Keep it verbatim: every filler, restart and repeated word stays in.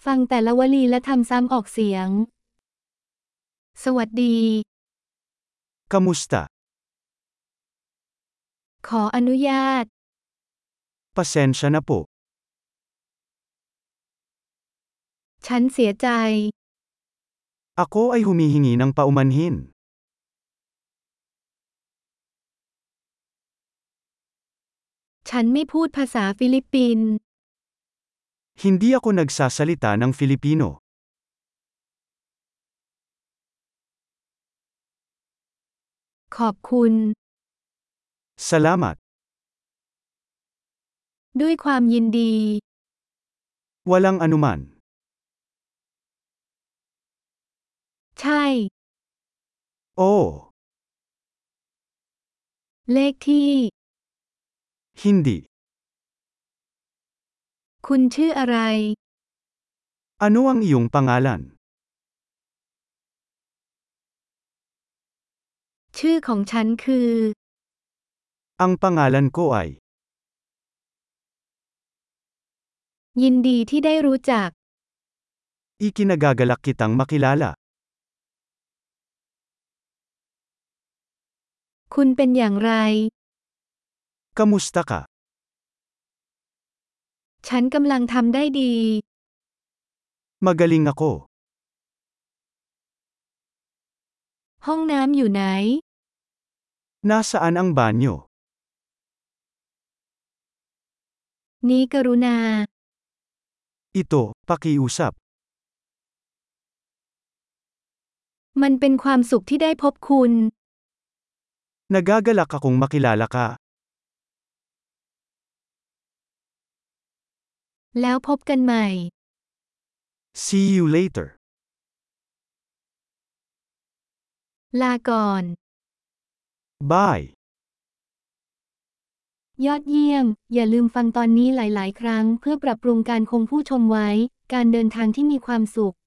ฟังแต่ละวลีและทำซ้ำออกเสียง สวัสดี Kamusta? ขออนุญาต Pasensya na po. ฉันเสียใจ Ako ay humihingi ng paumanhin. ฉันไม่พูดภาษาฟิลิปปินส์ Hindi ako nagsasalita ng Filipino. ขอบคุณ Salamat. ด้วยความยินดี Walang anuman. ใช่ Oo. เลขที่ Hindi. คุณชื่ออะไร Ano ang iyong pangalan? ชื่อของฉันคือ Ang pangalan ko ay. ยินดีที่ได้รู้จัก Ikinagagalak kitang makilala. คุณเป็นอย่างไร Kamusta ka? ฉันกำลังทำได้ดี Magaling ako. ห้องน้ำอยู่ไหน Nasaan ang banyo? นี้กรุณา Ito, pakiusap. มันเป็นความสุขที่ได้พบคุณ Nagagalak akong makilala ka. แล้วพบกันใหม่ See you later. ลาก่อน Bye. ยอดเยี่ยม อย่าลืมฟังตอนนี้หลาย ๆ ครั้งเพื่อปรับปรุงการคงผู้ชมไว้ การเดินทางที่มีความสุข